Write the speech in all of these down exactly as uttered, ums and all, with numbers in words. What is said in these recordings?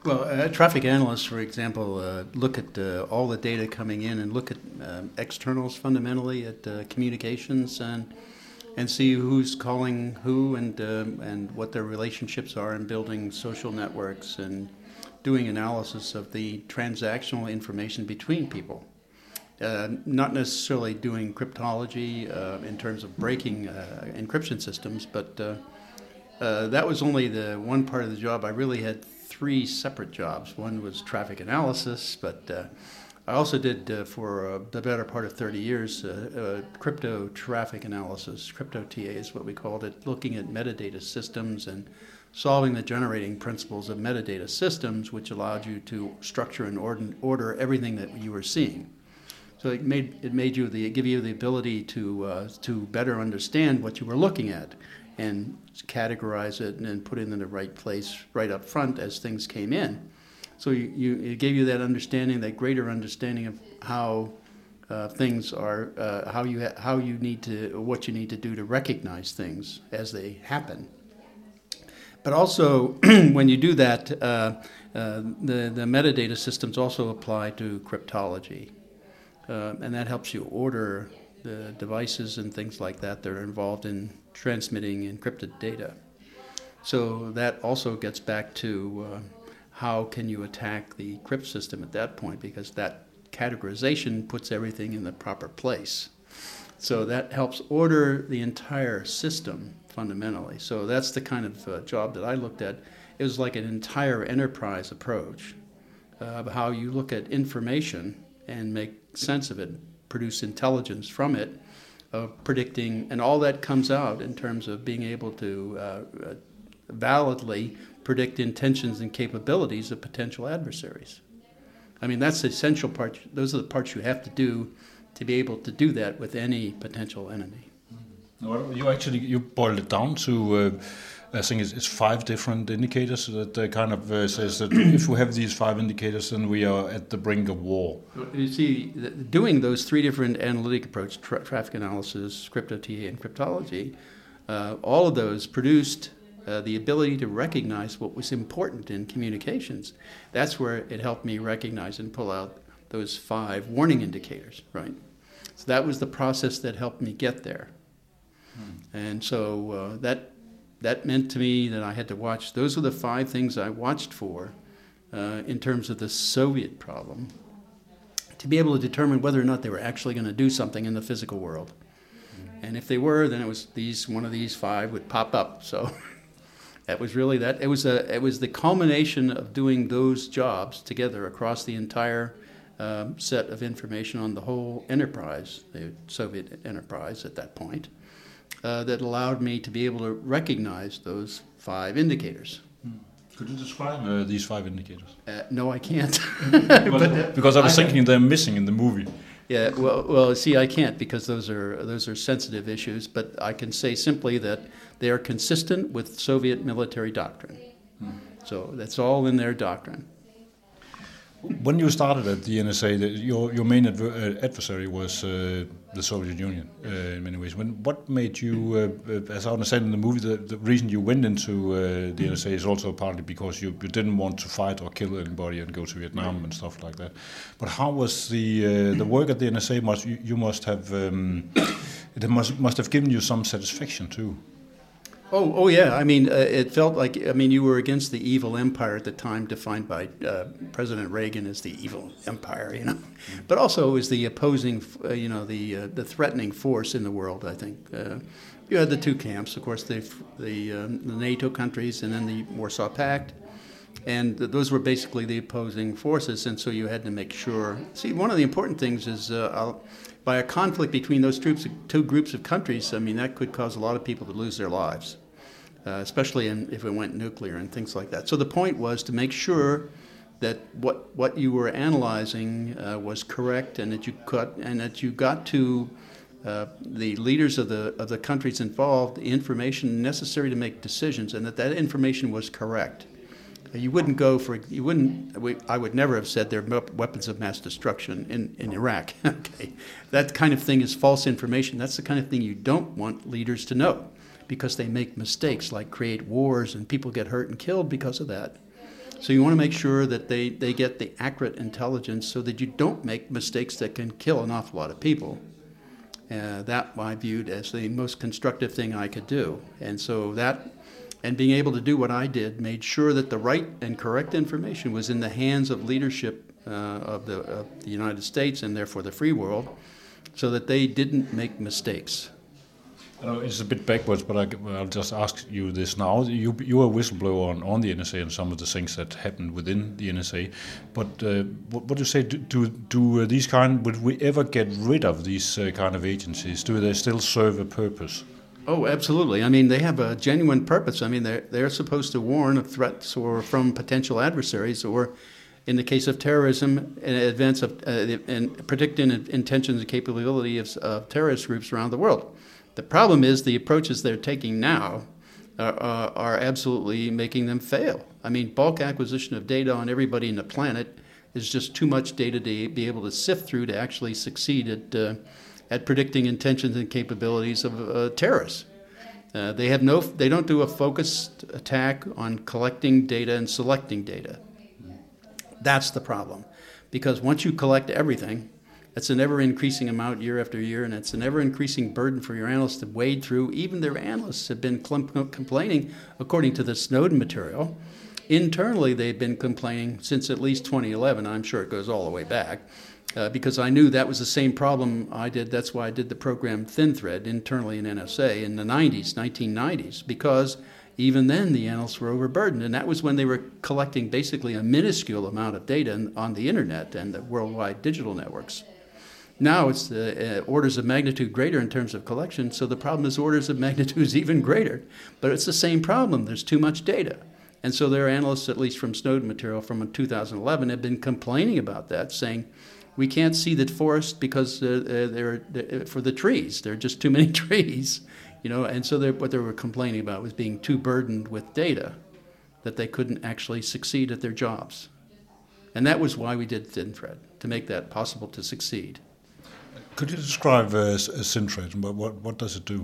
Well, uh, traffic analysts, for example, uh, look at uh, all the data coming in and look at um, externals fundamentally at uh, communications and and see who's calling who and um, and what their relationships are in building social networks and doing analysis of the transactional information between people. Uh, not necessarily doing cryptology uh, in terms of breaking uh, encryption systems, but uh, uh, that was only the one part of the job. I really had three separate jobs. One was traffic analysis, but uh, I also did uh, for uh, the better part of thirty years uh, uh, crypto traffic analysis. Crypto T A is what we called it, looking at metadata systems and solving the generating principles of metadata systems, which allowed you to structure and order, order everything that you were seeing. So it made it made you the give you the ability to uh, to better understand what you were looking at and categorize it and then put it in the right place right up front as things came in. So you, you it gave you that understanding, that greater understanding of how uh, things are, uh, how you ha- how you need to what you need to do to recognize things as they happen. But also, when you do that, uh, uh, the the metadata systems also apply to cryptology. Uh, and that helps you order the devices and things like that that are involved in transmitting encrypted data. So that also gets back to uh, how can you attack the crypt system at that point, because that categorization puts everything in the proper place. So that helps order the entire system fundamentally. So that's the kind of uh, job that I looked at. It was like an entire enterprise approach uh, of how you look at information and make sense of it, produce intelligence from it, of predicting, and all that comes out in terms of being able to uh, uh, validly predict intentions and capabilities of potential adversaries. I mean, that's the essential part. Those are the parts you have to do to be able to do that with any potential enemy. Well, you actually you boiled it down to uh, I think it's, it's five different indicators that uh, kind of uh, says that if we have these five indicators, then we are at the brink of war. You see, doing those three different analytic approaches, tra- traffic analysis, crypto T A, and cryptology, uh, all of those produced uh, the ability to recognize what was important in communications. That's where it helped me recognize and pull out those five warning indicators, right? So that was the process that helped me get there. Hmm. And so uh, that that meant to me that I had to watch. Those were the five things I watched for uh, in terms of the Soviet problem, to be able to determine whether or not they were actually going to do something in the physical world. Hmm. And if they were, then it was these one of these five would pop up. So that was really that. It was a it was the culmination of doing those jobs together across the entire um, set of information on the whole enterprise, the Soviet enterprise at that point, uh, that allowed me to be able to recognize those five indicators. Hmm. Could you describe uh, these five indicators? Uh, no, I can't. but, uh, because I was I thinking they're missing in the movie. Yeah, well, well, see, I can't because those are those are sensitive issues. But I can say simply that they are consistent with Soviet military doctrine. Hmm. So that's all in their doctrine. When you started at the N S A, the, your your main adver- adversary was uh, the Soviet Union uh, in many ways. When what made you, uh, as I understand in the movie, the, the reason you went into uh, the N S A is also partly because you, you didn't want to fight or kill anybody and go to Vietnam and stuff like that. But how was the uh, the work at the N S A? Must you, you must have um, it must must have given you some satisfaction too. Oh, oh yeah. I mean, uh, it felt like, I mean, you were against the evil empire at the time, defined by uh, President Reagan as the evil empire, you know. Mm-hmm. But also it was the opposing, uh, you know, the uh, the threatening force in the world, I think. Uh, you had the two camps, of course, the the, um, the NATO countries and then the Warsaw Pact. And th- those were basically the opposing forces, and so you had to make sure. See, one of the important things is uh, I'll, by a conflict between those troops, two groups of countries, I mean, that could cause a lot of people to lose their lives, uh, especially in, if it went nuclear and things like that. So the point was to make sure that what what you were analyzing uh, was correct, and that you cut, and that you got to uh, the leaders of the of the countries involved the information necessary to make decisions, and that that information was correct. You wouldn't go for, you wouldn't, we, I would never have said there are weapons of mass destruction in, in Iraq. Okay, that kind of thing is false information. That's the kind of thing you don't want leaders to know, because they make mistakes like create wars and people get hurt and killed because of that. So you want to make sure that they, they get the accurate intelligence so that you don't make mistakes that can kill an awful lot of people. Uh, that I viewed as the most constructive thing I could do. And so that, and being able to do what I did, made sure that the right and correct information was in the hands of leadership uh, of, the, of the United States and therefore the free world, so that they didn't make mistakes. I know it's a bit backwards, but I, I'll just ask you this now. You you were a whistleblower on, on the N S A and some of the things that happened within the N S A. But uh, what, what do you say? Do do, do uh, these kind? Would we ever get rid of these uh, kind of agencies? Do they still serve a purpose? Oh, absolutely. I mean, they have a genuine purpose. I mean, they're they're supposed to warn of threats or from potential adversaries, or in the case of terrorism, in advance of uh, and predicting intentions and capability of, of terrorist groups around the world. The problem is the approaches they're taking now are, are, are absolutely making them fail. I mean, bulk acquisition of data on everybody in the planet is just too much data to be able to sift through to actually succeed at uh, at predicting intentions and capabilities of uh, terrorists. Uh, they have no. They don't do a focused attack on collecting data and selecting data. That's the problem, because once you collect everything, it's an ever-increasing amount year after year, and it's an ever-increasing burden for your analysts to wade through. Even their analysts have been cl- complaining, according to the Snowden material. Internally, they've been complaining since at least twenty eleven. I'm sure it goes all the way back, uh, because I knew that was the same problem I did. That's why I did the program ThinThread internally in N S A in the nineties, nineteen nineties, because even then the analysts were overburdened, and that was when they were collecting basically a minuscule amount of data on the internet and the worldwide digital networks. Now it's the uh, orders of magnitude greater in terms of collection, so the problem is orders of magnitude even greater. But it's the same problem. There's too much data. And so their analysts, at least from Snowden material from two thousand eleven, have been complaining about that, saying, we can't see the forest because uh, they're, they're for the trees. There are just too many trees, you know. And so what they were complaining about was being too burdened with data, that they couldn't actually succeed at their jobs. And that was why we did ThinThread, to make that possible to succeed. Could you describe uh, ThinThread? What, what what does it do?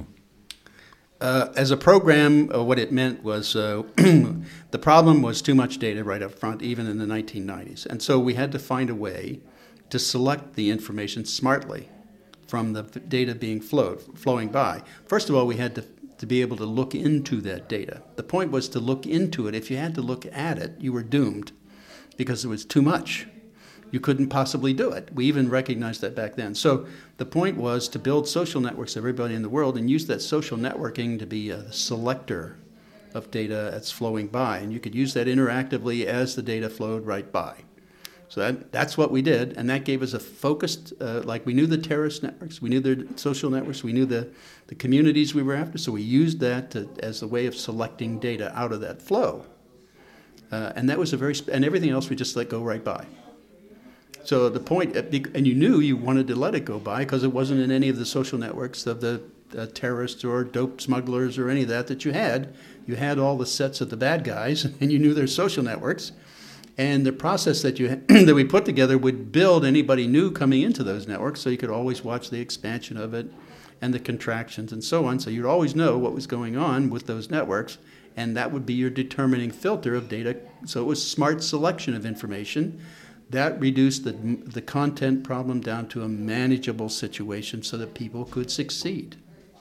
Uh, as a program, uh, what it meant was uh, the problem was too much data right up front, even in the nineteen nineties. And so we had to find a way to select the information smartly from the data being flowed, flowing by. First of all, we had to, to be able to look into that data. The point was to look into it. If you had to look at it, you were doomed because it was too much. You couldn't possibly do it. We even recognized that back then. So the point was to build social networks of everybody in the world and use that social networking to be a selector of data that's flowing by. And you could use that interactively as the data flowed right by. So that, that's what we did, and that gave us a focused, uh, like we knew the terrorist networks, we knew their social networks, we knew the, the communities we were after, so we used that to, as a way of selecting data out of that flow. Uh, and that was a very, sp- and everything else we just let go right by. So the point, and you knew you wanted to let it go by because it wasn't in any of the social networks of the uh, terrorists or dope smugglers or any of that that you had. You had all the sets of the bad guys, and you knew their social networks. And the process that you that we put together would build anybody new coming into those networks, so you could always watch the expansion of it and the contractions and so on. So you'd always know what was going on with those networks, and that would be your determining filter of data. So it was smart selection of information. That reduced the the content problem down to a manageable situation so that people could succeed.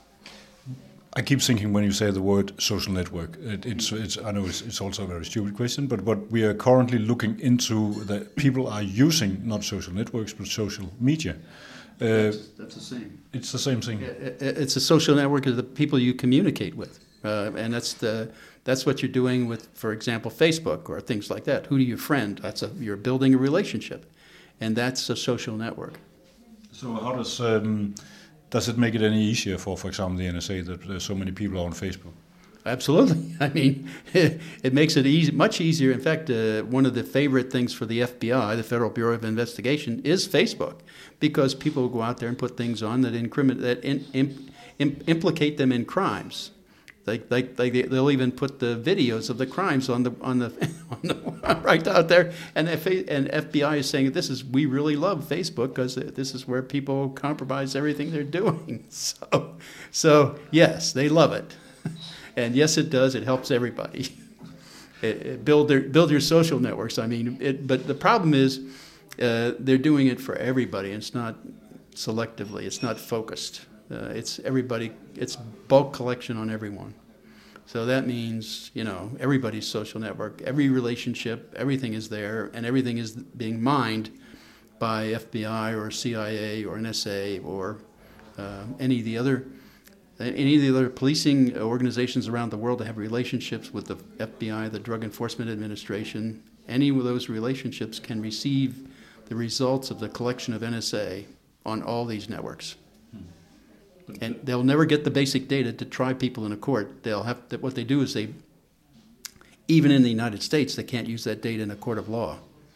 I keep thinking when you say the word social network, it, it's, it's, I know it's, it's also a very stupid question, but what we are currently looking into, that people are using not social networks, but social media. Uh, that's, that's the same. It's the same thing. It's a social network of the people you communicate with. Uh, and that's the that's what you're doing with, for example, Facebook or things like that. Who do you friend? That's a, you're building a relationship. And that's a social network. So how does... Um, Does it make it any easier for, for example, the N S A that there's so many people are on Facebook? Absolutely. I mean, it makes it easy, much easier. In fact, uh, one of the favorite things for the F B I, the Federal Bureau of Investigation, is Facebook, because people will go out there and put things on that incriminate, that in, in, in, implicate them in crimes. Like, like, like they'll even put the videos of the crimes on the on the, on the right out there, and F and F B I is saying this is we really love Facebook because this is where people compromise everything they're doing. So, so yes, they love it, and yes, it does. It helps everybody. uh, build their build your social networks. I mean, it, but the problem is uh, they're doing it for everybody. It's not selectively. It's not focused. Uh, it's everybody. It's bulk collection on everyone. So that means, you know, everybody's social network, every relationship, everything is there, and everything is being mined by F B I or C I A or N S A or uh, any of the other any of the other policing organizations around the world that have relationships with the F B I, the Drug Enforcement Administration. Any of those relationships can receive the results of the collection of N S A on all these networks. And they'll never get the basic data to try people in a court. They'll have to, what they do is they, even in the United States, they can't use that data in a court of law.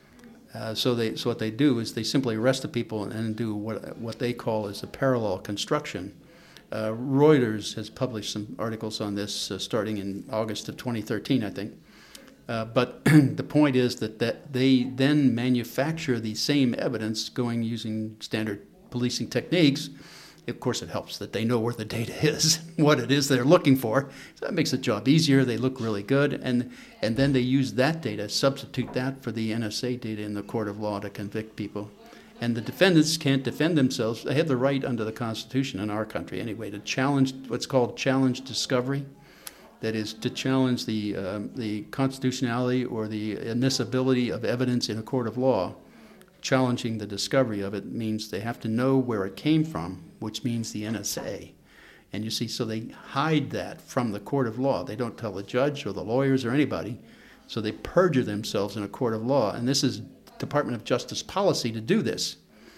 Uh, so they, so what they do is they simply arrest the people and do what what they call is a parallel construction. Uh, Reuters has published some articles on this uh, starting in August of twenty thirteen, I think. Uh, but the point is that, that they then manufacture the same evidence going using standard policing techniques. Of course, it helps that they know where the data is, what it is they're looking for. So that makes the job easier. They look really good. And and then they use that data, substitute that for the N S A data in the court of law to convict people. And the defendants can't defend themselves. They have the right under the Constitution in our country anyway to challenge what's called challenge discovery. That is to challenge the uh, the constitutionality or the admissibility of evidence in a court of law. Challenging the discovery of it means they have to know where it came from, which means the N S A. And you see, so they hide that from the court of law. They don't tell the judge or the lawyers or anybody. So they perjure themselves in a court of law. And this is Department of Justice policy to do this.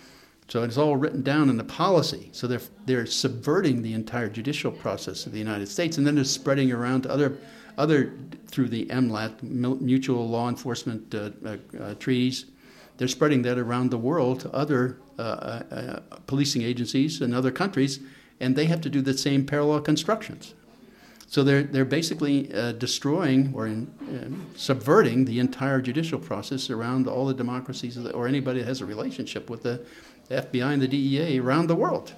So it's all written down in the policy. So they're they're subverting the entire judicial process of the United States, and then they're spreading around to other other through the M L A T, Mutual Law Enforcement uh, uh, uh, Treaties. They're spreading that around the world to other uh, uh, policing agencies in other countries, and they have to do the same parallel constructions. So they're they're basically uh, destroying or in, uh, subverting the entire judicial process around all the democracies or anybody that has a relationship with the F B I and the D E A around the world.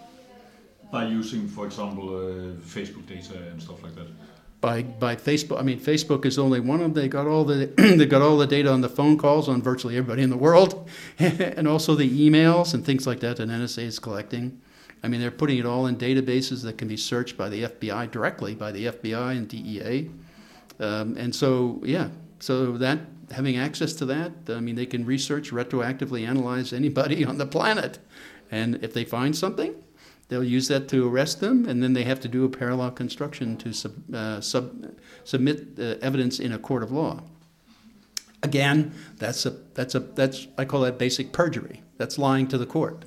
By using, for example, uh, Facebook data and stuff like that. By by Facebook, I mean Facebook is only one of them. They got all the they got all the data on the phone calls on virtually everybody in the world, and also the emails and things like that that N S A is collecting. I mean, they're putting it all in databases that can be searched by the F B I directly by the F B I and D E A, um, and so yeah, so that having access to that, I mean, they can research, retroactively analyze anybody on the planet, and if they find something, they'll use that to arrest them, and then they have to do a parallel construction to sub, uh, sub, submit uh, evidence in a court of law. Again, that's a that's a that's I call that basic perjury. That's lying to the court.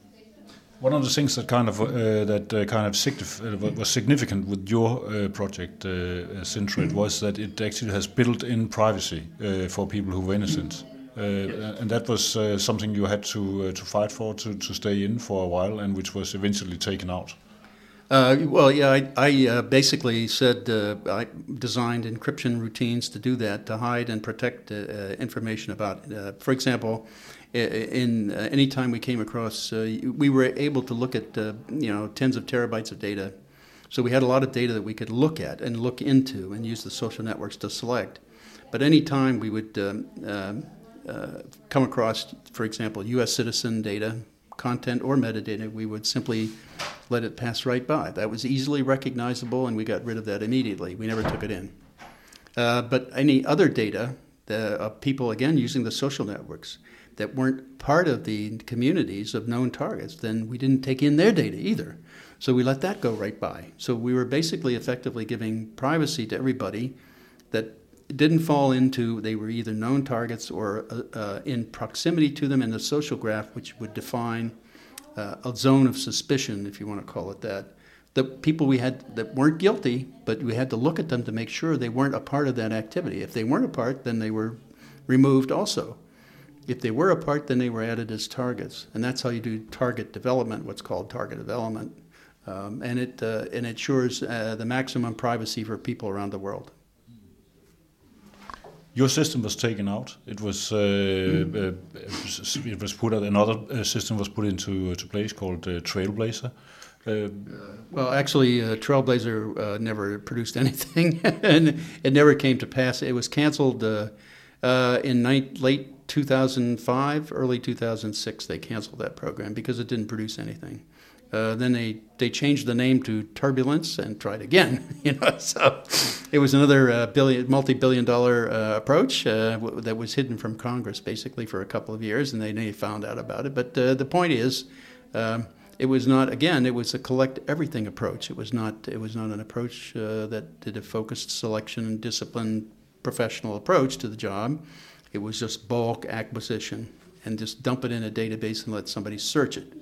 One of the things that kind of uh, that uh, kind of signif- uh, was significant with your uh, project, uh, Syntret, was that it actually has built-in privacy uh, for people who were innocent. Uh, and that was uh, something you had to uh, to fight for, to, to stay in for a while, and which was eventually taken out. Uh, well, yeah, I, I uh, basically said uh, I designed encryption routines to do that, to hide and protect uh, uh, information about, uh, for example, in uh, any time we came across, uh, we were able to look at, uh, you know, tens of terabytes of data. So we had a lot of data that we could look at and look into and use the social networks to select. But any time we would um, uh, uh, come across, for example, U S citizen data, content or metadata, we would simply let it pass right by. That was easily recognizable, and we got rid of that immediately. We never took it in. Uh, but any other data, the, of people, again, using the social networks, that weren't part of the communities of known targets, then we didn't take in their data either. So we let that go right by. So we were basically effectively giving privacy to everybody that didn't fall into, they were either known targets or uh, uh, in proximity to them in the social graph, which would define uh, a zone of suspicion, if you want to call it that. The people we had that weren't guilty, but we had to look at them to make sure they weren't a part of that activity. If they weren't a part, then they were removed also. If they were a part, then they were added as targets. And that's how you do target development, what's called target development. Um, and it uh, and it ensures uh, the maximum privacy for people around the world. Your system was taken out. It was uh, mm. uh, it was put out. Another uh, system was put into uh, to place called uh, Trailblazer. Uh, Well, actually, uh, Trailblazer uh, never produced anything, and it never came to pass. It was canceled uh, uh, in ni- late two thousand five, early two thousand six. They canceled that program because it didn't produce anything. Uh, then they, they changed the name to Turbulence and tried again. You know, so it was another uh, billion, multi-billion dollar uh, approach uh, w- that was hidden from Congress basically for a couple of years, and they, they found out about it. But uh, the point is. Um, It was not, again, it was a collect everything approach. It was not It was not an approach uh, that did a focused selection and discipline professional approach to the job. It was just bulk acquisition and just dump it in a database and let somebody search it.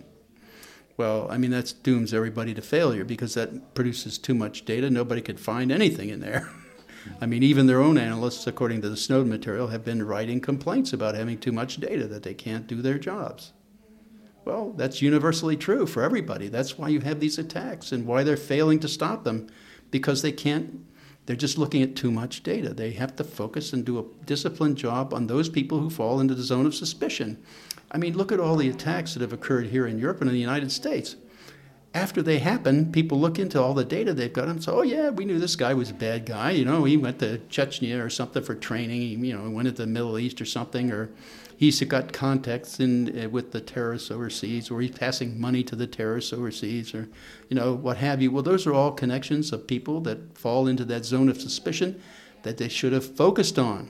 Well, I mean, that dooms everybody to failure because that produces too much data. Nobody could find anything in there. I mean, even their own analysts, according to the Snowden material, have been writing complaints about having too much data, that they can't do their jobs. Well, that's universally true for everybody. That's why you have these attacks and why they're failing to stop them, because they can't, they're just looking at too much data. They have to focus and do a disciplined job on those people who fall into the zone of suspicion. I mean, look at all the attacks that have occurred here in Europe and in the United States. After they happen, people look into all the data they've got and say, oh, yeah, we knew this guy was a bad guy. You know, he went to Chechnya or something for training. He, you know, went into the Middle East or something, or he's got contacts in uh, with the terrorists overseas, or he's passing money to the terrorists overseas, or, you know, what have you. Well, those are all connections of people that fall into that zone of suspicion that they should have focused on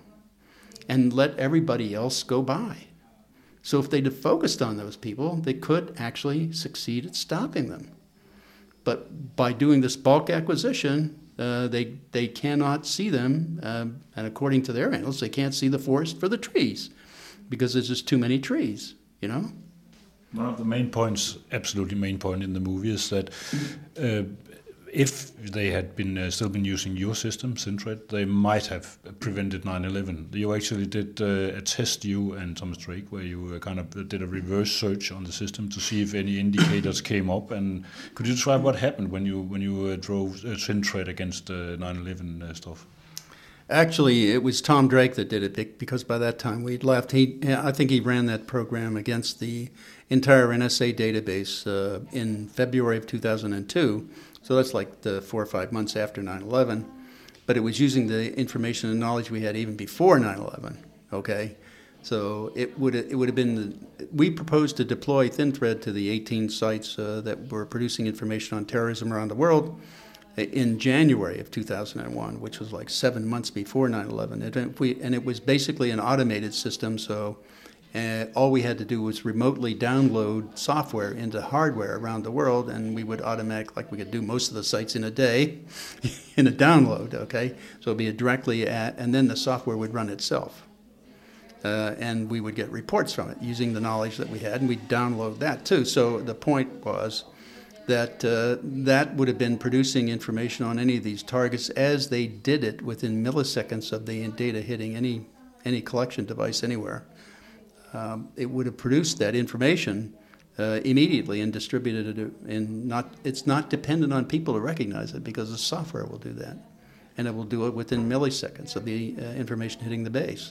and let everybody else go by. So if they'd have focused on those people, they could actually succeed at stopping them. But by doing this bulk acquisition, uh, they they cannot see them, uh, and according to their analysts, they can't see the forest for the trees, because there's just too many trees, you know? One of the main points, absolutely main point in the movie, is that uh, if they had been uh, still been using your system, Syntret, they might have prevented nine eleven. You actually did uh, a test, you and Thomas Drake, where you uh, kind of did a reverse search on the system to see if any indicators came up. And could you describe what happened when you when you uh, drove uh, Syntret against uh, nine eleven uh, stuff? Actually, it was Tom Drake that did it, because by that time we'd left. He, I think he ran that program against the entire N S A database uh, in February of two thousand two. So that's like the four or five months after nine eleven. But it was using the information and knowledge we had even before nine eleven, okay? So it would it would have been, we proposed to deploy ThinThread to the eighteen sites uh, that were producing information on terrorism around the world in January of two thousand one, which was like seven months before nine eleven. And, we, and it was basically an automated system, so uh, all we had to do was remotely download software into hardware around the world, and we would automatically, like we could do most of the sites in a day, in a download, okay? So it would be directly at, and then the software would run itself. Uh, and we would get reports from it using the knowledge that we had, and we'd download that too. So the point was that uh, that would have been producing information on any of these targets as they did it within milliseconds of the data hitting any any collection device anywhere. Um, it would have produced that information uh, immediately and distributed it. In not, it's not dependent on people to recognize it, because the software will do that, and it will do it within milliseconds of the uh, information hitting the base.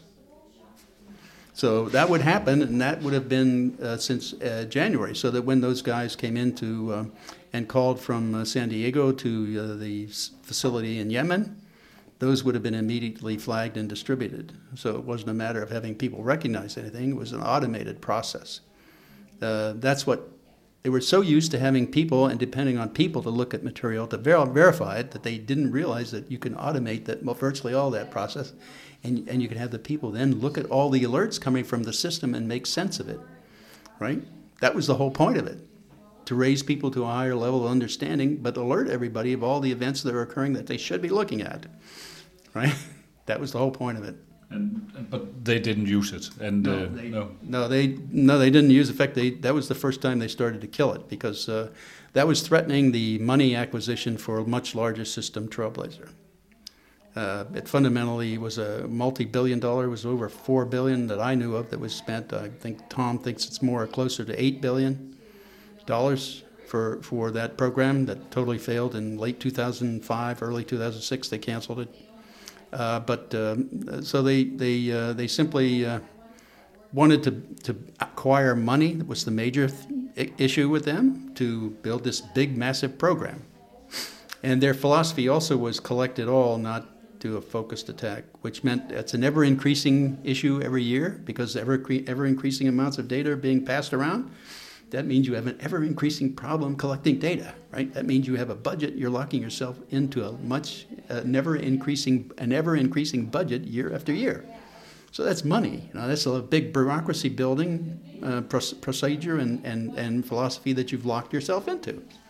So that would happen, and that would have been uh, since uh, January, so that when those guys came in to uh, and called from uh, San Diego to uh, the facility in Yemen, those would have been immediately flagged and distributed. So it wasn't a matter of having people recognize anything. It was an automated process. Uh, that's what, they were so used to having people and depending on people to look at material to ver- verify it that they didn't realize that you can automate that, well, virtually all that process. And, and you can have the people then look at all the alerts coming from the system and make sense of it, right? That was the whole point of it, to raise people to a higher level of understanding, but alert everybody of all the events that are occurring that they should be looking at, right? That was the whole point of it. And, but they didn't use it, and no, uh, they, no, no, they no, they didn't use it. In fact, they, that was the first time they started to kill it, because uh, that was threatening the money acquisition for a much larger system, Trailblazer. Uh, it fundamentally was a multi-billion dollar, it was over four billion that I knew of that was spent. I think Tom thinks it's more closer to eight billion dollars for, for that program that totally failed in late two thousand five, early two thousand six. They canceled it. Uh, but um, so they they uh, they simply uh, wanted to, to acquire money. That was the major th- I- issue with them to build this big, massive program. And their philosophy also was collect it all, not do a focused attack, which meant it's an ever-increasing issue every year because ever ever-increasing amounts of data are being passed around. That means you have an ever-increasing problem collecting data, right? That means you have a budget. You're locking yourself into a much uh, never-increasing, an ever-increasing budget year after year. So that's money. You know, that's a big bureaucracy building uh, procedure and, and, and philosophy that you've locked yourself into.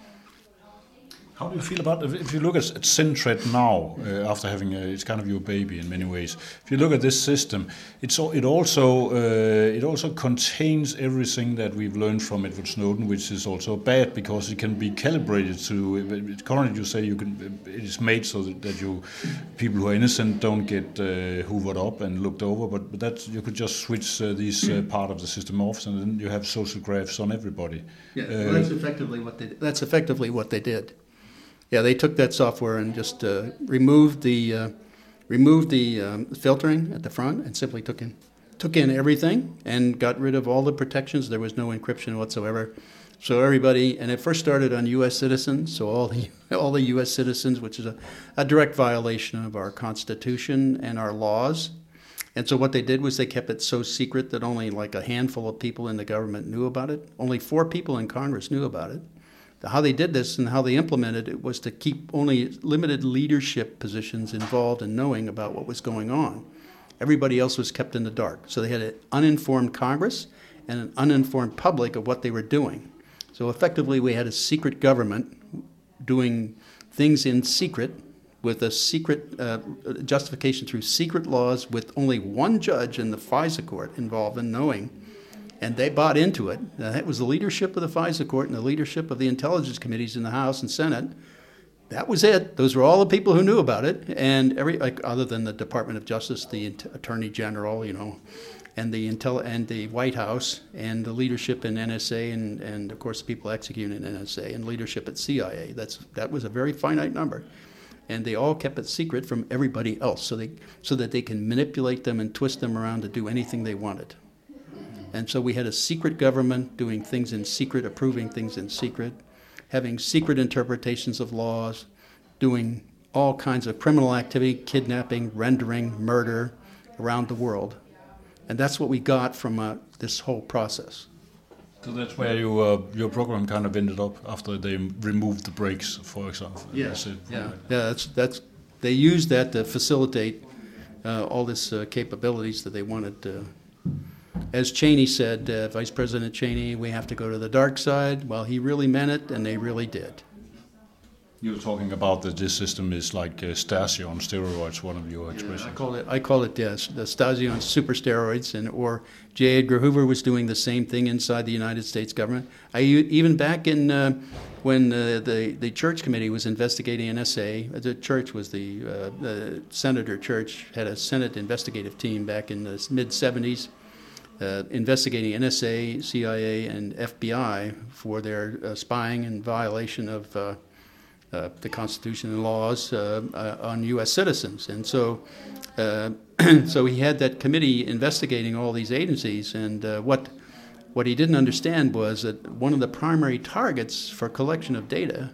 How do you feel about if you look at, at Syntret now uh, after having a, it's kind of your baby in many ways? If you look at this system, it's it also uh, it also contains everything that we've learned from Edward Snowden, which is also bad because it can be calibrated to. Currently, you say you can. It is made so that, that you people who are innocent don't get uh, hoovered up and looked over, but, but that you could just switch uh, these uh, part of the system off, and then you have social graphs on everybody. Yeah, uh, well, that's effectively what they. That's effectively what they did. Yeah, they took that software and just uh, removed the uh, removed the um, filtering at the front and simply took in took in everything and got rid of all the protections. There was no encryption whatsoever. So everybody, and it first started on U S citizens. So all the all the U S citizens, which is a, a direct violation of our Constitution and our laws. And so what they did was they kept it so secret that only like a handful of people in the government knew about it. Only four people in Congress knew about it. How they did this and how they implemented it was to keep only limited leadership positions involved in knowing about what was going on. Everybody else was kept in the dark. So they had an uninformed Congress and an uninformed public of what they were doing. So effectively we had a secret government doing things in secret with a secret uh, justification through secret laws with only one judge in the FISA court involved in knowing. And they bought into it. Uh, that was the leadership of the FISA court and the leadership of the intelligence committees in the House and Senate. That was it. Those were all the people who knew about it. And every, like, other than the Department of Justice, the Attorney General, you know, and the Intel and the White House and the leadership in N S A and, and of course the people executing in N S A and leadership at C I A. That's that was a very finite number. And they all kept it secret from everybody else so they so that they can manipulate them and twist them around to do anything they wanted. And so we had a secret government doing things in secret, approving things in secret, having secret interpretations of laws, doing all kinds of criminal activity, kidnapping, rendering, murder around the world. And that's what we got from uh, this whole process. So that's where you, uh, your program kind of ended up after they removed the brakes, for example. Yes. Yeah, yeah, yeah. That's that's. They used that to facilitate uh, all this uh, capabilities that they wanted to. As Cheney said, uh, Vice President Cheney, we have to go to the dark side. Well, he really meant it, and they really did. You're talking about that this system is like uh, Stasi on steroids, one of your expressions. Yeah, I call it, I call it yes, the Stasi on super steroids, and or J. Edgar Hoover was doing the same thing inside the United States government. I even back in uh, when uh, the the Church Committee was investigating N S A. The Church was the, uh, the Senator Church had a Senate investigative team back in the mid seventies. Uh, investigating N S A, C I A, and F B I for their uh, spying and violation of uh, uh, the Constitution and laws uh, uh, on U S citizens. And so uh, so he had that committee investigating all these agencies. And uh, what what he didn't understand was that one of the primary targets for collection of data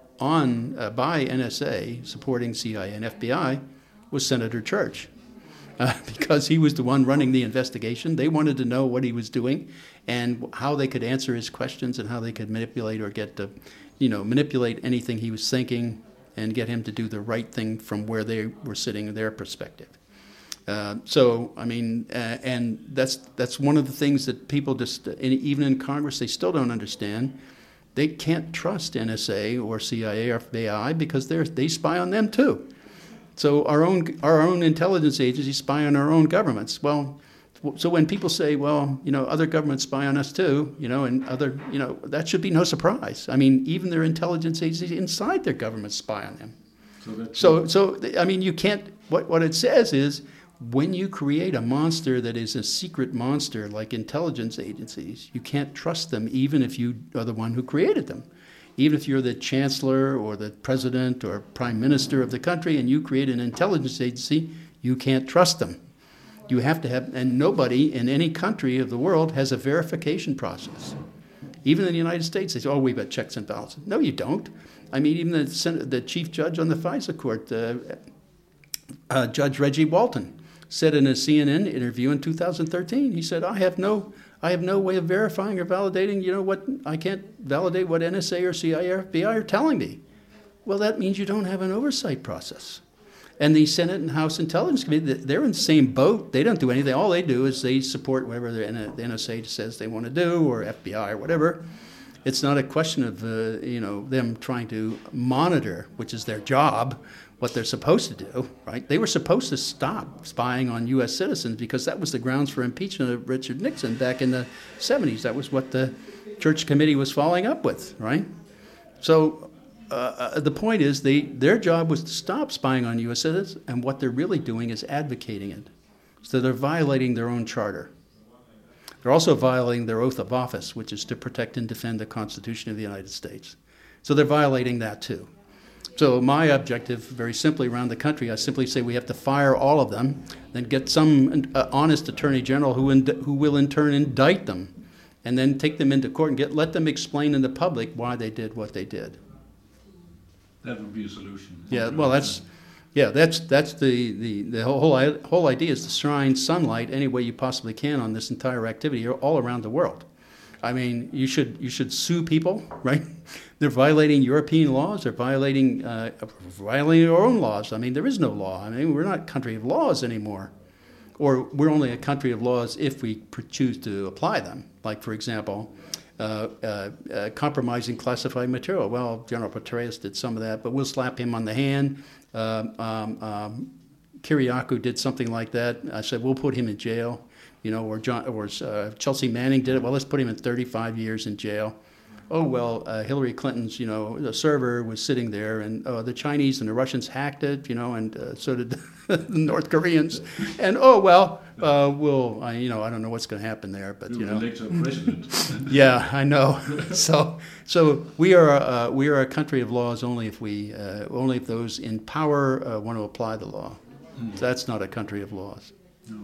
on uh, by N S A supporting C I A and F B I was Senator Church. Uh, because he was the one running the investigation. They wanted to know what he was doing and how they could answer his questions and how they could manipulate or get to, you know, manipulate anything he was thinking and get him to do the right thing from where they were sitting in their perspective. Uh, so, I mean, uh, and that's that's one of the things that people just, even in Congress, they still don't understand. They can't trust N S A or C I A or F B I because they they spy on them too. So our own our own intelligence agencies spy on our own governments. Well, so when people say, well, you know, other governments spy on us too, you know, and other, you know, that should be no surprise. I mean, even their intelligence agencies inside their government spy on them. So, so, so I mean, you can't. What what it says is, when you create a monster that is a secret monster like intelligence agencies, you can't trust them, even if you are the one who created them. Even if you're the chancellor or the president or prime minister of the country and you create an intelligence agency, you can't trust them. You have to have, and nobody in any country of the world has a verification process. Even in the United States, they say, oh, we've got checks and balances. No, you don't. I mean, even the, Senate, the chief judge on the FISA court, uh, uh, Judge Reggie Walton, said in a C N N interview in two thousand thirteen, he said, I have no I have no way of verifying or validating, you know, what, I can't validate what N S A or C I A or F B I are telling me. Well, that means you don't have an oversight process. And the Senate and House Intelligence Committee, they're in the same boat. They don't do anything. All they do is they support whatever the N S A says they want to do, or F B I or whatever. It's not a question of, uh, you know, them trying to monitor, which is their job, what they're supposed to do, right? They were supposed to stop spying on U S citizens because that was the grounds for impeachment of Richard Nixon back in the seventies. That was what the Church Committee was following up with, right? So uh, the point is they their job was to stop spying on U S citizens, and what they're really doing is advocating it. So they're violating their own charter. They're also violating their oath of office, which is to protect and defend the Constitution of the United States. So they're violating that too. So my objective, very simply around the country, I simply say we have to fire all of them, then get some uh, honest attorney general who ind- who will in turn indict them, and then take them into court and get let them explain in the public why they did what they did. That would be a solution. Yeah, well, that's yeah, that's that's the the the whole whole idea is to shine sunlight any way you possibly can on this entire activity all around the world. I mean, you should you should sue people, right? They're violating European laws. They're violating uh, violating our own laws. I mean, there is no law. I mean, we're not a country of laws anymore, or we're only a country of laws if we choose to apply them. Like, for example, uh, uh, uh, compromising classified material. Well, General Petraeus did some of that, but we'll slap him on the hand. Um, um, um, Kiriakou did something like that. I said we'll put him in jail. You know, or John, or uh, Chelsea Manning did it. Well, let's put him in thirty-five years in jail. Oh, well, uh, Hillary Clinton's, you know, the server was sitting there, and uh, the Chinese and the Russians hacked it, you know, and uh, so did the North Koreans. And, oh, well, uh, we'll, I, you know, I don't know what's going to happen there, but, you know. Elect a president. Yeah, I know. so so we are uh, we are a country of laws only if we, uh, only if those in power uh, want to apply the law. Mm. So that's not a country of laws. No.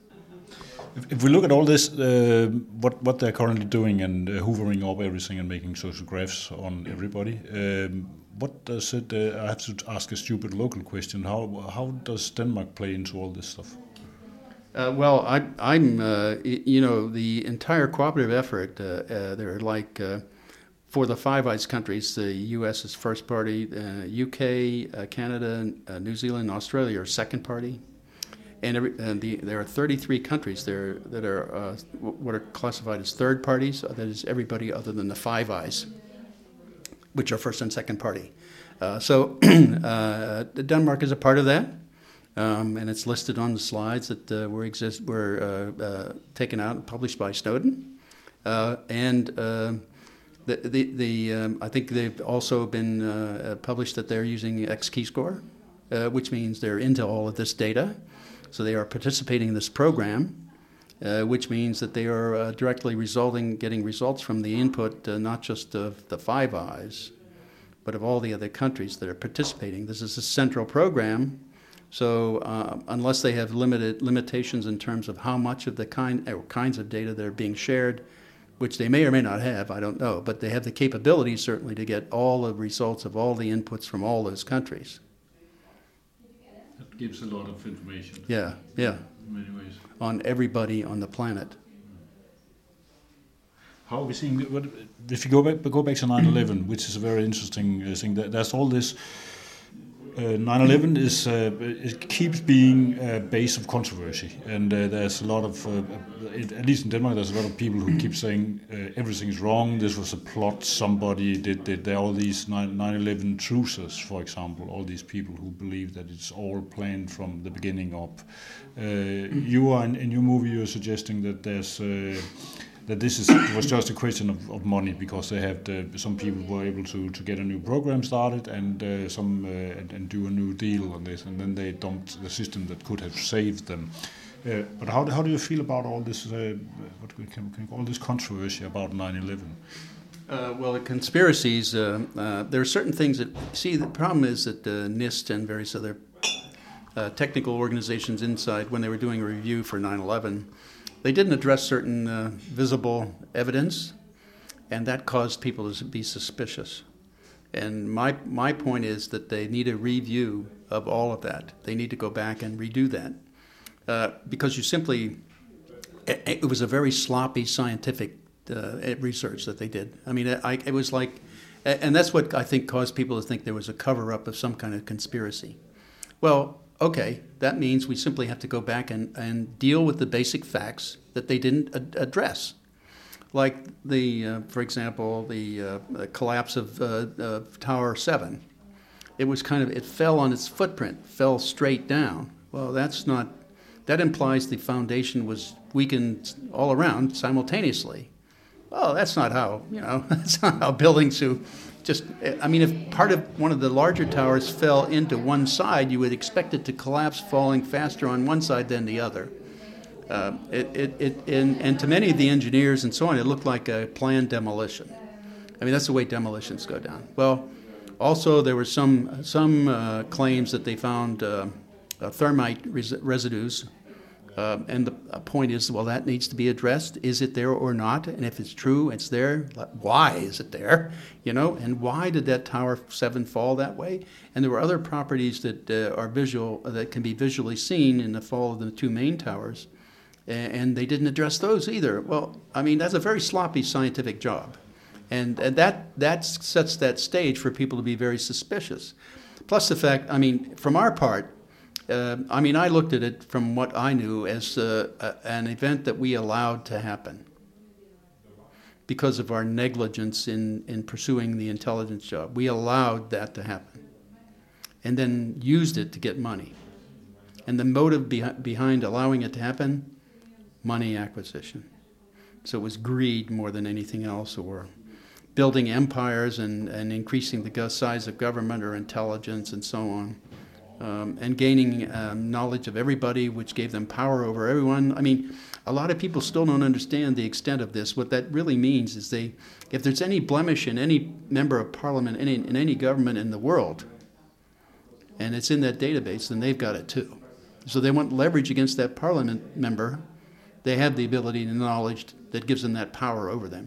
If, if we look at all this, uh, what what they're currently doing and uh, hoovering up everything and making social graphs on everybody, um, what does it? Uh, I have to ask a stupid local question. How how does Denmark play into all this stuff? Uh, well, I, I'm, uh, you know, the entire cooperative effort. Uh, uh, they're like uh, for the Five Eyes countries, the U S is first party, uh, U K, uh, Canada, uh, New Zealand, Australia are second party. And, every, and the, there are thirty-three countries there that are uh, what are classified as third parties. That is everybody other than the Five Eyes, which are first and second party. Uh, so uh, Denmark is a part of that, um, and it's listed on the slides that uh, were exist were uh, uh, taken out and published by Snowden. Uh, and uh, the the, the um, I think they've also been uh, published that they're using X-Keyscore, uh, which means they're into all of this data. So they are participating in this program, uh, which means that they are uh, directly resulting, getting results from the input, uh, not just of the Five Eyes, but of all the other countries that are participating. This is a central program, so uh, unless they have limited limitations in terms of how much of the kind or kinds of data that are being shared, which they may or may not have, I don't know, but they have the capability certainly to get all the results of all the inputs from all those countries. That gives a lot of information. Yeah, yeah. In many ways. On everybody on the planet. How are we seeing? What, if you go back, go back to nine eleven, which is a very interesting uh, thing. There's all this. Uh, nine eleven is uh, it keeps being a base of controversy, and uh, there's a lot of, uh, it, at least in Denmark, there's a lot of people who keep saying uh, everything's wrong. This was a plot. Somebody did. did there are all these nine eleven truthers, for example. All these people who believe that it's all planned from the beginning up. Uh, you are in, in your movie. You're suggesting that there's. Uh, that this is it was just a question of, of money because they had uh, some people were able to, to get a new program started and uh, some uh, and, and do a new deal on this, and then they dumped the system that could have saved them. Uh, but how how do you feel about all this uh, what we can, can all this controversy about nine eleven? Uh, well, the conspiracies. Uh, uh, there are certain things that see. The problem is that uh, NIST and various other uh, technical organizations inside, when they were doing a review for nine eleven. They didn't address certain uh, visible evidence, and that caused people to be suspicious. And my my point is that they need a review of all of that. They need to go back and redo that uh, because you simply it, it was a very sloppy scientific uh, research that they did. I mean, I, it was like, and that's what I think caused people to think there was a cover-up of some kind of conspiracy. Well, okay, that means we simply have to go back and, and deal with the basic facts that they didn't ad- address. Like the, uh, for example, the, uh, the collapse of uh, uh, Tower seven. It was kind of, it fell on its footprint, fell straight down. Well, that's not, that implies the foundation was weakened all around simultaneously. Well, that's not how, you know, that's not how buildings do. Just, I mean, if part of one of the larger towers fell into one side, you would expect it to collapse, falling faster on one side than the other. Uh, it, it, it, and, and to many of the engineers and so on, it looked like a planned demolition. I mean, that's the way demolitions go down. Well, also there were some some uh, claims that they found uh, uh, thermite res- residues. Uh, and the point is, well, that needs to be addressed. Is it there or not? And if it's true, it's there. Why is it there? You know, and why did that Tower seven fall that way? And there were other properties that uh, are visual, that can be visually seen in the fall of the two main towers, and they didn't address those either. Well, I mean, that's a very sloppy scientific job, and, and that that sets that stage for people to be very suspicious. Plus the fact, I mean, from our part. Uh, I mean, I looked at it from what I knew as uh, a, an event that we allowed to happen because of our negligence in, in pursuing the intelligence job. We allowed that to happen and then used it to get money. And the motive behi- behind allowing it to happen, money acquisition. So it was greed more than anything else, or building empires and, and increasing the size of government or intelligence and so on. Um, and gaining um, knowledge of everybody, which gave them power over everyone. I mean, a lot of people still don't understand the extent of this. What that really means is they, if there's any blemish in any member of parliament, any, in any government in the world, and it's in that database, then they've got it too. So they want leverage against that parliament member. They have the ability and knowledge that gives them that power over them.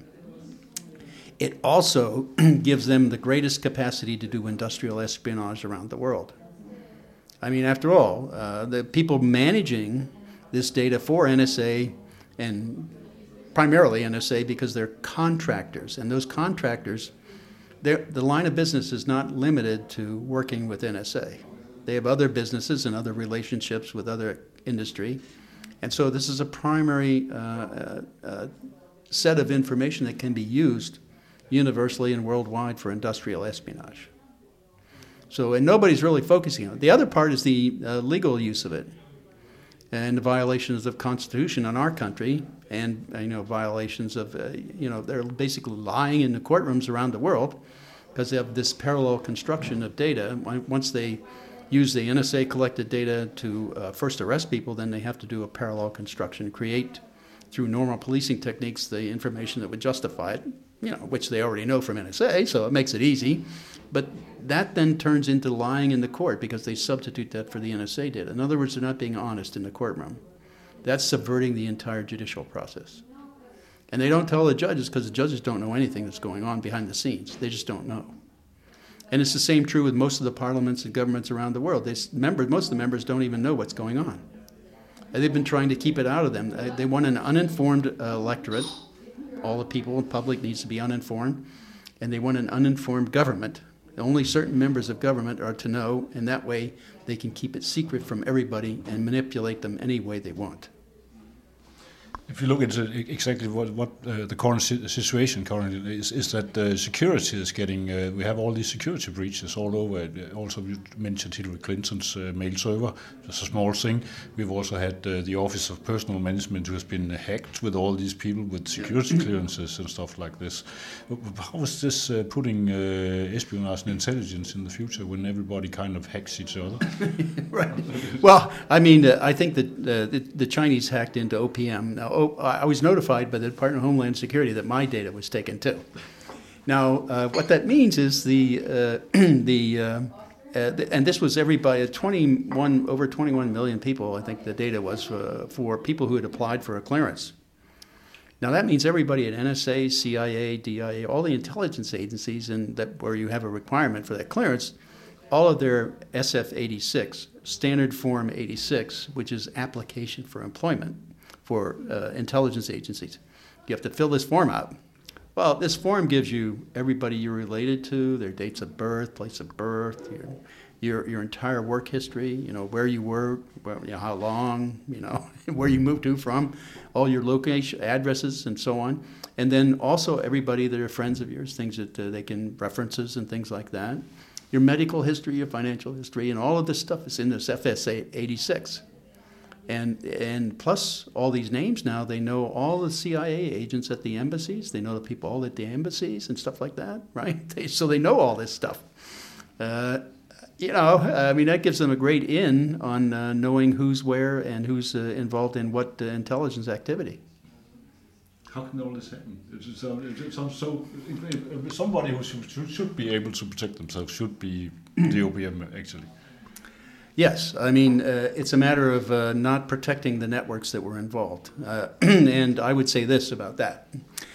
It also gives them the greatest capacity to do industrial espionage around the world. I mean, after all, uh, the people managing this data for N S A, and primarily N S A because they're contractors, and those contractors, the line of business is not limited to working with N S A. They have other businesses and other relationships with other industry, and so this is a primary uh, uh, set of information that can be used universally and worldwide for industrial espionage. So, and nobody's really focusing on it. The other part is the uh, legal use of it and the violations of Constitution in our country, and, uh, you know, violations of, uh, you know, they're basically lying in the courtrooms around the world because they have this parallel construction of data. Once they use the N S A collected data to uh, first arrest people, then they have to do a parallel construction, create through normal policing techniques the information that would justify it, you know, which they already know from N S A, so it makes it easy. But that then turns into lying in the court because they substitute that for the N S A data. In other words, they're not being honest in the courtroom. That's subverting the entire judicial process. And they don't tell the judges because the judges don't know anything that's going on behind the scenes. They just don't know. And it's the same true with most of the parliaments and governments around the world. They, members, most of the members don't even know what's going on. And they've been trying to keep it out of them. They want an uninformed uh, electorate. All the people, the public needs to be uninformed. And they want an uninformed government. Only certain members of government are to know, and that way they can keep it secret from everybody and manipulate them any way they want. If you look at exactly what, what uh, the current situation currently is, is that uh, security is getting, uh, we have all these security breaches all over. Also, you mentioned Hillary Clinton's uh, mail server, just a small thing. We've also had uh, the Office of Personal Management who has been hacked with all these people with security clearances and stuff like this. How is this uh, putting uh, espionage and intelligence in the future when everybody kind of hacks each other? Right. Well, I mean, uh, I think that uh, the, the Chinese hacked into O P M. Now, Oh, I was notified by the Department of Homeland Security that my data was taken too. Now, uh, what that means is the uh, the, uh, uh, the and this was everybody, twenty-one over twenty-one million people. I think the data was uh, for people who had applied for a clearance, Now that means everybody at N S A, C I A, D I A, all the intelligence agencies, and that where you have a requirement for that clearance, all of their S F eighty-six, Standard Form eighty-six, which is application for employment for uh, intelligence agencies. You have to fill this form out. Well, this form gives you everybody you're related to, their dates of birth, place of birth, your your, your entire work history, you know, where you work, where, you know, how long, you know, where you moved to from, all your location, addresses, and so on. And then also everybody that are friends of yours, things that uh, they can, references and things like that. Your medical history, your financial history, and all of this stuff is in this F S eighty-six. And and plus all these names now, they know all the C I A agents at the embassies. They know the people all at the embassies and stuff like that, right? They, so they know all this stuff. Uh, you know, I mean, that gives them a great in on uh, knowing who's where and who's uh, involved in what uh, intelligence activity. How can all this happen? It's, so, it's so, so somebody who should, should be able to protect themselves should be the O P M, actually. Yes, I mean, uh, it's a matter of uh, not protecting the networks that were involved. Uh, and I would say this about that.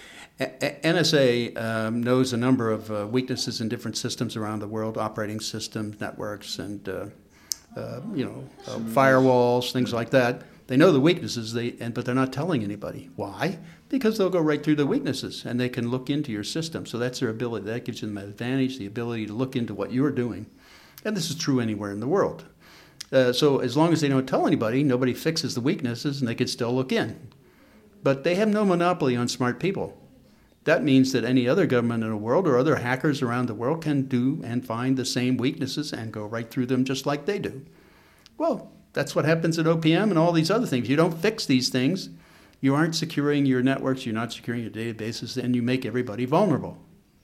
A- N S A um, knows a number of uh, weaknesses in different systems around the world, operating systems, networks, and, uh, uh, you know, uh, firewalls, things like that. They know the weaknesses, they, and, but they're not telling anybody. Why? Because they'll go right through the weaknesses, and they can look into your system. So that's their ability. That gives them an advantage, the ability to look into what you're doing. And this is true anywhere in the world. Uh, so as long as they don't tell anybody, nobody fixes the weaknesses, and they can still look in. But they have no monopoly on smart people. That means that any other government in the world or other hackers around the world can do and find the same weaknesses and go right through them just like they do. Well, that's what happens at O P M and all these other things. You don't fix these things, you aren't securing your networks, you're not securing your databases, and you make everybody vulnerable.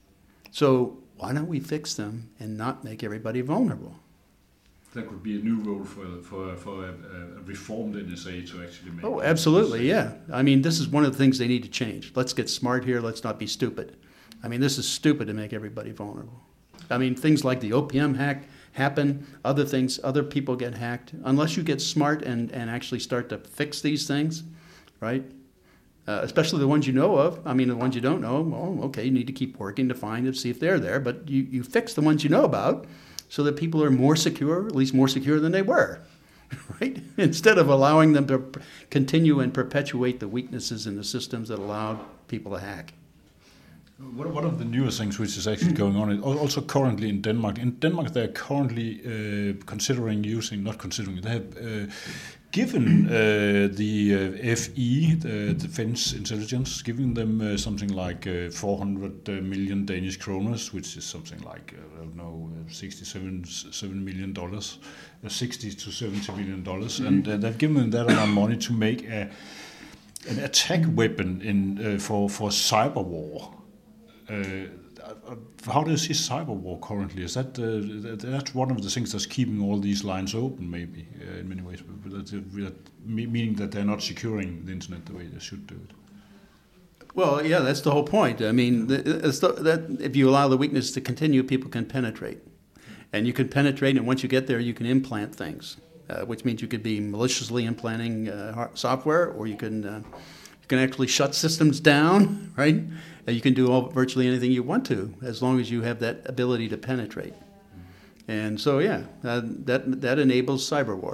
So why don't we fix them and not make everybody vulnerable? That could be a new role for for for a, a reformed N S A to actually make. Oh, absolutely, yeah. I mean, this is one of the things they need to change. Let's get smart here. Let's not be stupid. I mean, this is stupid to make everybody vulnerable. I mean, things like the O P M hack happen, other things, other people get hacked. Unless you get smart and, and actually start to fix these things, right? Uh, especially the ones you know of. I mean, the ones you don't know, well, okay, you need to keep working to find and see if they're there. But you, you fix the ones you know about, so that people are more secure, at least more secure than they were, right? Instead of allowing them to continue and perpetuate the weaknesses in the systems that allowed people to hack. One of the newest things which is actually going on, is also currently in Denmark. In Denmark, they're currently uh, considering using, not considering, they have uh, given uh, the uh, F E, the Defense Intelligence, giving them uh, something like uh, four hundred million Danish kroners, which is something like, uh, I don't know, sixty-seven seven million dollars, uh, sixty to seventy million dollars, and uh, they've given them that amount of money to make a, an attack weapon in uh, for for cyber war. Uh, how do you see cyber war currently? Is that uh, that's one of the things that's keeping all these lines open, maybe uh, in many ways, but that, that, meaning that they're not securing the internet the way they should do it. Well, yeah, that's the whole point. I mean, the, that if you allow the weakness to continue, people can penetrate, and you can penetrate, and once you get there, you can implant things, uh, which means you could be maliciously implanting uh, software, or you can uh, you can actually shut systems down, right? You can do all, virtually anything you want to, as long as you have that ability to penetrate. And so, yeah, uh, that that enables cyber war.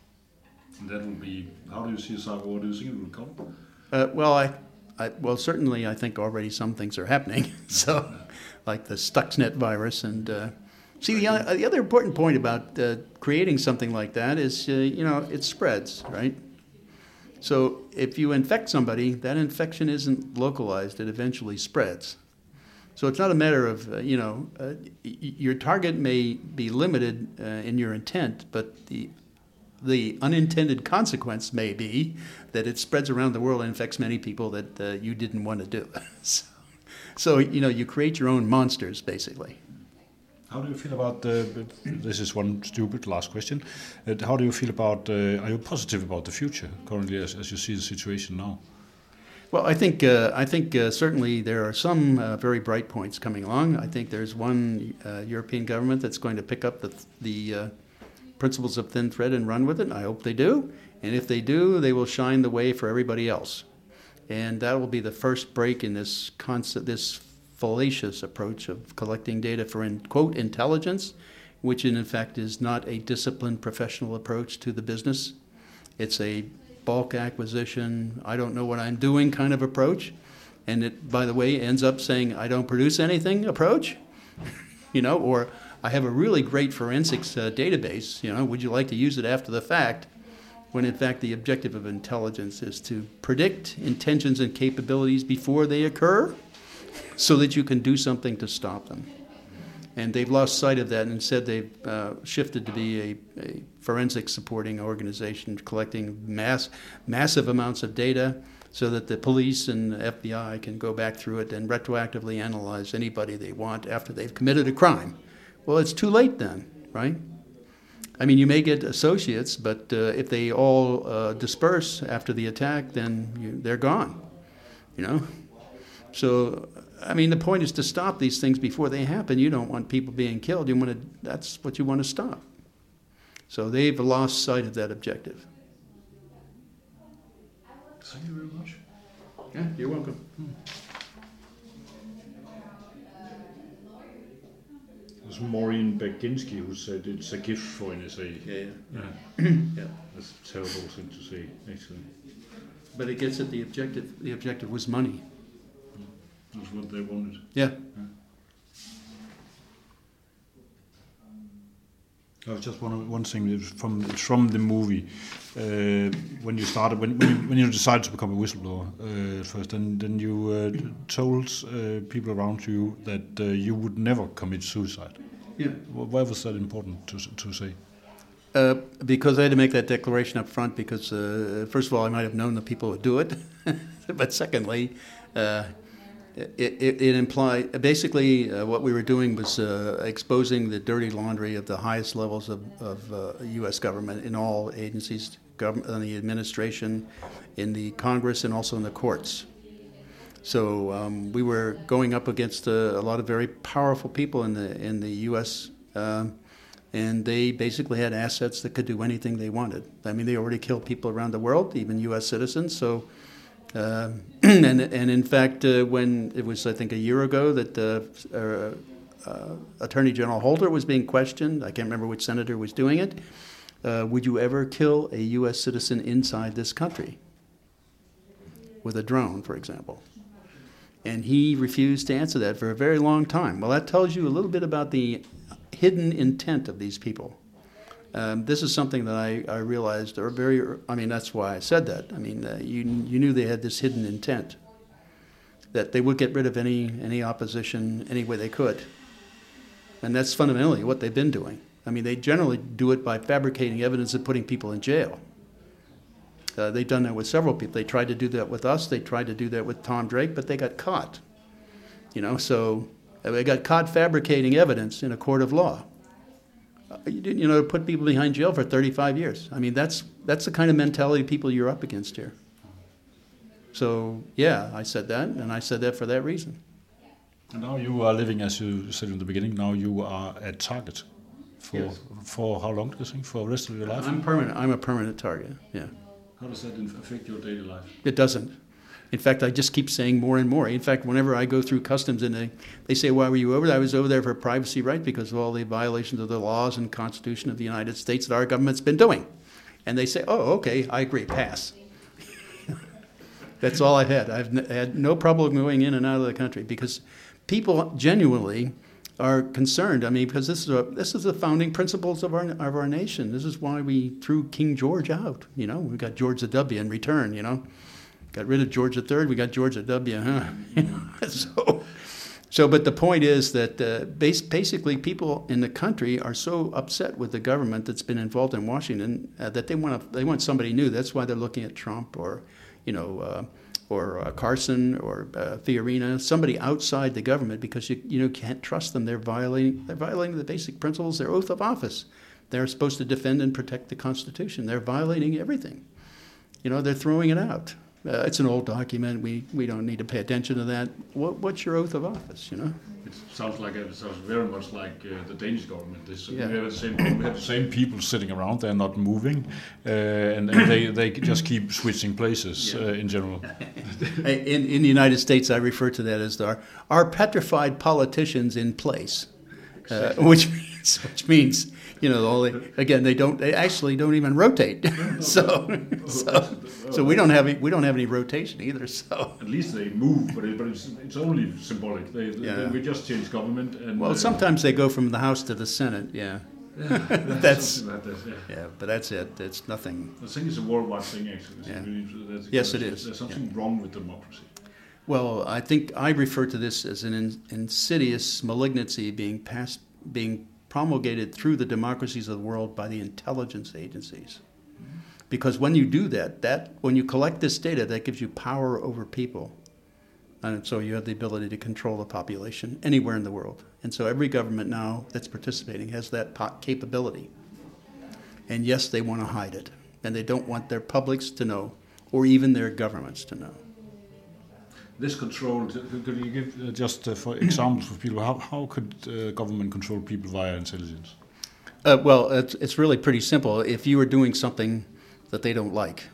And that will be, how do you see cyber war? Do you think it will come? Uh, well, I, I, well, certainly I think already some things are happening. So, like the Stuxnet virus. And uh, see, the, uh, the other important point about uh, creating something like that is, uh, you know, it spreads, right? So if you infect somebody, that infection isn't localized, it eventually spreads. So it's not a matter of, uh, you know, uh, y- your target may be limited uh, in your intent, but the the unintended consequence may be that it spreads around the world and infects many people that uh, you didn't want to do. so, so, you know, you create your own monsters, basically. How do you feel about the, this is one stupid last question, uh, how do you feel about, uh, are you positive about the future currently as, as you see the situation now? Well, I think uh, I think uh, certainly there are some uh, very bright points coming along. I think there's one uh, European government that's going to pick up the, the uh, principles of thin thread and run with it. I hope they do. And if they do, they will shine the way for everybody else. And that will be the first break in this concept, this fallacious approach of collecting data for, in, quote, intelligence, which in fact is not a disciplined professional approach to the business. It's a bulk acquisition, I don't know what I'm doing kind of approach. And it, by the way, ends up saying, I don't produce anything approach, you know, or I have a really great forensics uh, database, you know, would you like to use it after the fact? When in fact the objective of intelligence is to predict intentions and capabilities before they occur so that you can do something to stop them. And they've lost sight of that and instead they've uh, shifted to be a, a forensic supporting organization collecting mass, massive amounts of data so that the police and the F B I can go back through it and retroactively analyze anybody they want after they've committed a crime. Well, it's too late then, right? I mean, you may get associates, but uh, if they all uh, disperse after the attack, then you, they're gone, you know? So, I mean, the point is to stop these things before they happen. You don't want people being killed. You want to, that's what you want to stop. So they've lost sight of that objective. Thank you very much. Yeah, you're welcome. Hmm. There's Maureen Baginski who said it's a gift for N S A. Yeah, yeah. Yeah. Yeah. That's a terrible thing to say, actually. But it gets at the objective. The objective was money. That's what they wanted. Yeah. Yeah. I was just one one thing that was from from the movie uh, when you started when when you, when you decided to become a whistleblower uh, first, then then you uh, told uh, people around you that uh, you would never commit suicide. Yeah. Why was that important to to say? Uh, because I had to make that declaration up front. Because uh, first of all, I might have known the people who would do it, but secondly. Uh, It, it, it implied, basically uh, what we were doing was uh, exposing the dirty laundry of the highest levels of, of uh, U S government in all agencies, government, in the administration, in the Congress, and also in the courts. So um, we were going up against uh, a lot of very powerful people in the in the U S Um, and they basically had assets that could do anything they wanted. I mean, they already killed people around the world, even U S citizens. So. Uh, and, and in fact, uh, when it was, I think, a year ago that uh, uh, uh, Attorney General Holder was being questioned, I can't remember which senator was doing it, uh, would you ever kill a U S citizen inside this country with a drone, for example? And he refused to answer that for a very long time. Well, that tells you a little bit about the hidden intent of these people. Um, this is something that I, I realized, or very, I mean, that's why I said that. I mean, uh, you you knew they had this hidden intent, that they would get rid of any any opposition any way they could. And that's fundamentally what they've been doing. I mean, they generally do it by fabricating evidence and putting people in jail. Uh, they've done that with several people. They tried to do that with us. They tried to do that with Tom Drake, but they got caught. You know, so uh, they got caught fabricating evidence in a court of law. You didn't, you know, put people behind jail for thirty-five years. I mean, that's that's the kind of mentality of people you're up against here. So, yeah, I said that, and I said that for that reason. And now you are living, as you said in the beginning, now you are a target. For Yes. for how long do you think? For the rest of your life? I'm permanent. I'm a permanent target, yeah. How does that affect your daily life? It doesn't. In fact, I just keep saying more and more. In fact, whenever I go through customs and they, they say, why were you over there? I was over there for privacy right because of all the violations of the laws and Constitution of the United States that our government's been doing. And they say, oh, okay, I agree, pass. That's all I've had. I've n- had no problem going in and out of the country because people genuinely are concerned. I mean, because this is a, this is the founding principles of our of our nation. This is why we threw King George out. You know, we got George the W in return, you know. Got rid of George the Third, we got George the W, huh? so, so, but the point is that uh, bas- basically people in the country are so upset with the government that's been involved in Washington uh, that they want to, they want somebody new. That's why they're looking at Trump or, you know, uh, or uh, Carson or uh, Fiorina, somebody outside the government because you you know can't trust them. They're violating they're violating the basic principles, their oath of office. They're supposed to defend and protect the Constitution. They're violating everything. You know, they're throwing it out. Uh, it's an old document. We we don't need to pay attention to that. What, what's your oath of office, you know? it sounds like it sounds very much like uh, the Danish government. This, Yeah. We have the same. We have the same people sitting around. They're not moving, uh, and, and they they just keep switching places Yeah. uh, in general. In, in the United States, I refer to that as our, our petrified politicians in place, uh, which means, which means, you know, all they, again, they don't, they actually don't even rotate. so, so, so we don't have any, we don't have any rotation either. So, At least they move, but it, but it's it's only symbolic. They, they, Yeah. they we just change government. And well, uh, sometimes they go from the House to the Senate. Yeah, that's something like that, yeah. yeah, but that's it. It's nothing. I think it's a worldwide thing, actually. It's Yeah. really- that's- Yes, it there's- is. There's something wrong with democracy. Well, I think I refer to this as an in, insidious malignancy being passed, being promulgated through the democracies of the world by the intelligence agencies. Because when you do that, that when you collect this data, that gives you power over people. And so you have the ability to control the population anywhere in the world. And so every government now that's participating has that po- capability. And yes, they want to hide it. And they don't want their publics to know, or even their governments to know. This control, could you give uh, just uh, for examples for people, how, how could uh, government control people via intelligence? Uh, well, it's, it's really pretty simple. If you are doing something that they don't like,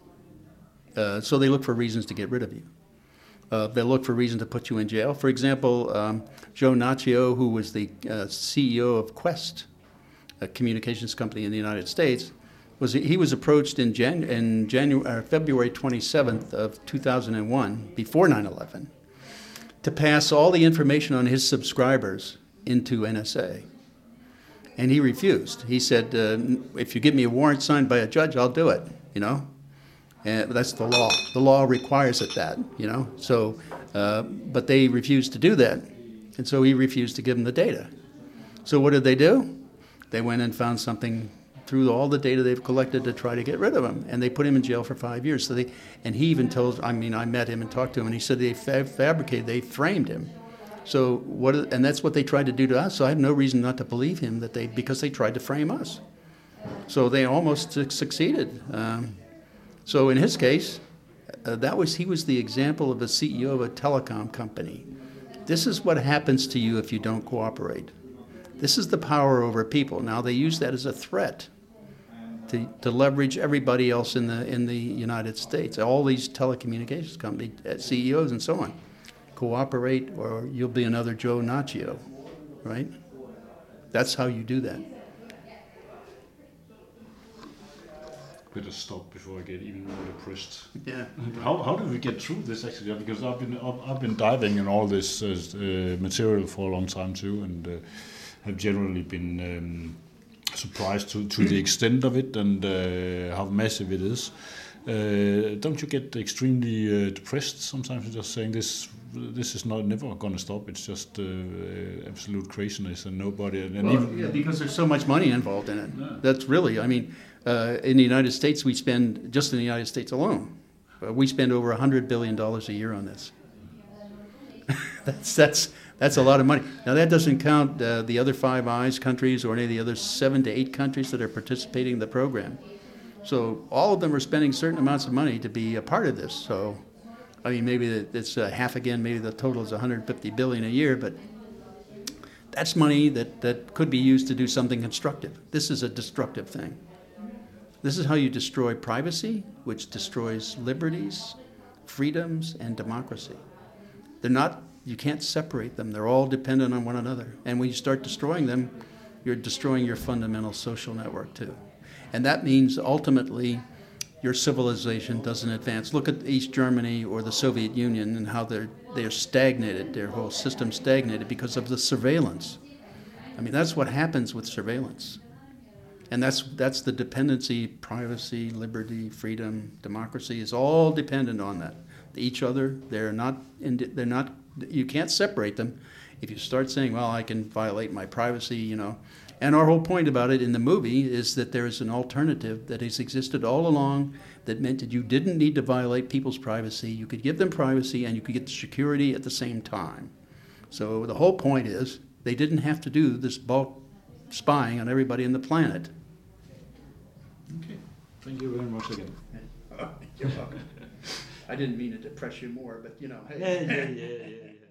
uh, so they look for reasons to get rid of you. Uh, they look for reason to put you in jail. For example, um, Joe Naccio, who was the uh, C E O of Quest, a communications company in the United States, was he was approached in, Jan, in January, uh, February twenty-seventh of two thousand one, before nine eleven, to pass all the information on his subscribers into N S A. And he refused. He said, uh, if you give me a warrant signed by a judge, I'll do it, you know. And that's the law. The law requires it that, you know. So, uh, but they refused to do that. And so he refused to give them the data. So what did they do? They went and found something through all the data they've collected to try to get rid of him. And they put him in jail for five years. So they, and he even told, I mean, I met him and talked to him, and he said they fab- fabricated, they framed him. So what, and that's what they tried to do to us. So I have no reason not to believe him that they, because they tried to frame us. So they almost su- succeeded. Um, so in his case, uh, that was he was the example of a C E O of a telecom company. This is what happens to you if you don't cooperate. This is the power over people. Now they use that as a threat to, to leverage everybody else in the in the United States. All these telecommunications company uh, C E Os and so on. Cooperate or you'll be another Joe Naccio, right? That's how you do that. Better stop before I get even more depressed. Yeah. How, how do we get through this actually? Because I've been I've, I've been diving in all this uh, uh, material for a long time too, and uh, have generally been um, surprised to, to the extent of it and uh, how massive it is. Uh, don't you get extremely uh, depressed sometimes? Just saying this this is not never going to stop. It's just uh, absolute craziness and nobody. And Well, even, yeah, because there's so much money involved in it. Yeah. That's really, I mean, uh, in the United States, we spend, just in the United States alone, uh, we spend over one hundred billion dollars a year on this. that's, that's, that's a lot of money. Now, that doesn't count uh, the other Five Eyes countries or any of the other seven to eight countries that are participating in the program. So all of them are spending certain amounts of money to be a part of this. So, I mean, maybe it's uh, half again, maybe the total is one hundred fifty billion dollars a year, but that's money that, that could be used to do something constructive. This is a destructive thing. This is how you destroy privacy, which destroys liberties, freedoms, and democracy. They're not, you can't separate them. They're all dependent on one another. And when you start destroying them, you're destroying your fundamental social network too. And that means ultimately your civilization doesn't advance. Look at East Germany or the Soviet Union and how they're they're stagnated, their whole system stagnated because of the surveillance. I mean, that's what happens with surveillance. And that's that's the dependency, privacy, liberty, freedom, democracy is all dependent on that. Each other, they're not they're not you can't separate them. If you start saying, well, I can violate my privacy, you know. And our whole point about it in the movie is that there is an alternative that has existed all along that meant that you didn't need to violate people's privacy. You could give them privacy and you could get security at the same time. So the whole point is they didn't have to do this bulk spying on everybody on the planet. Okay, thank you very much again. You're welcome. I didn't mean to depress you more, but you know. Hey. Yeah, yeah, yeah, yeah. yeah.